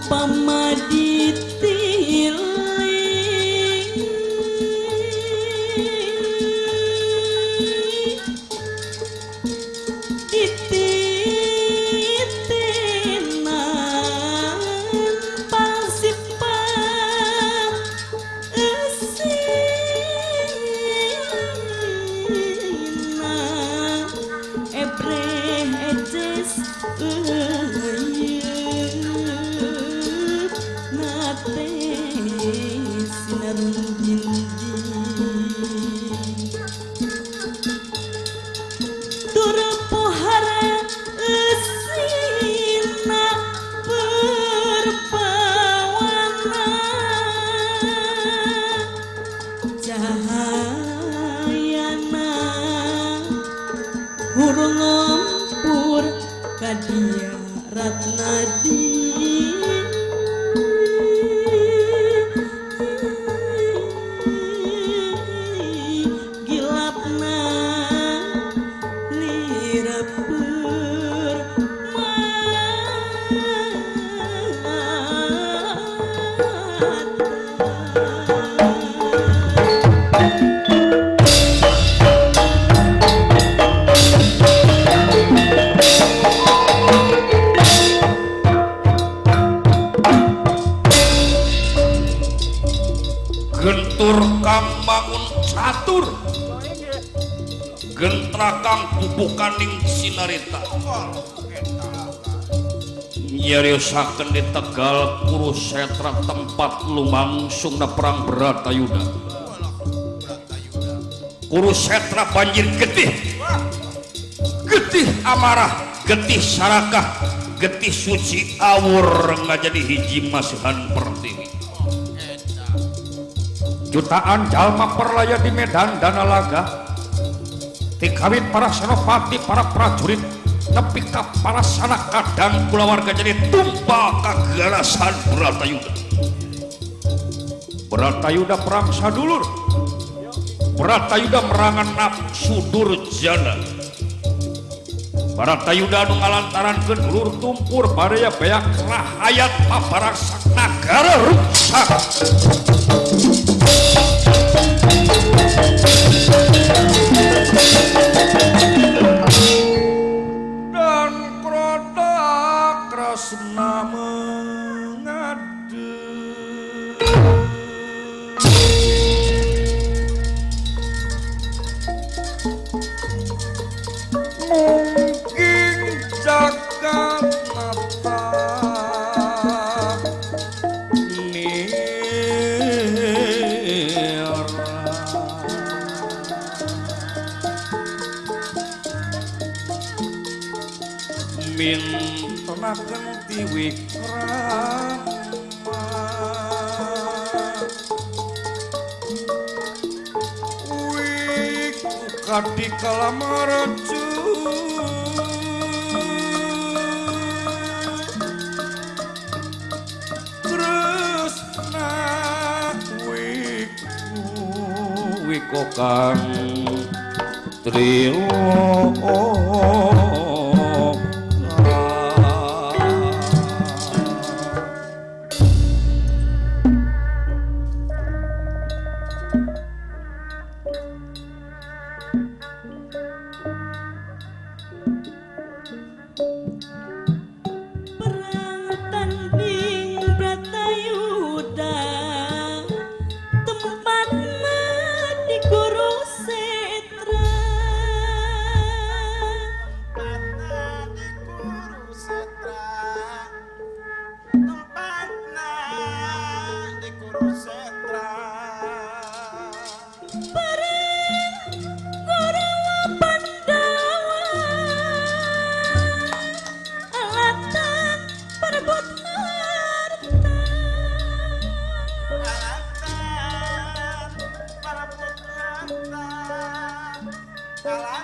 Nyariosaken di Tegal Kurusetra tempat lumangsungna perang Bratayuda. Kurusetra banjir getih, getih amarah, getih sarakah, getih suci awur ngajadi hiji masihan pertiwi. Jutaan jalma perlaya di medan Danalaga, tikawit para senopati, para prajurit, tapi ka para sanak kadang kulawarga jadi tumpah kagarasan Bratayuda. Bratayuda perang sadulur, Bratayuda merangan nafsu durjana. Bratayuda anu ngalantarankeun ulur tumpur badaya beak rahayat paparaksak nagara rusak. Tresna mengadu mungkin jagat mata nira mintonaken wikrama wiku kadi kalamaraju tresna wiku kang trilo Salah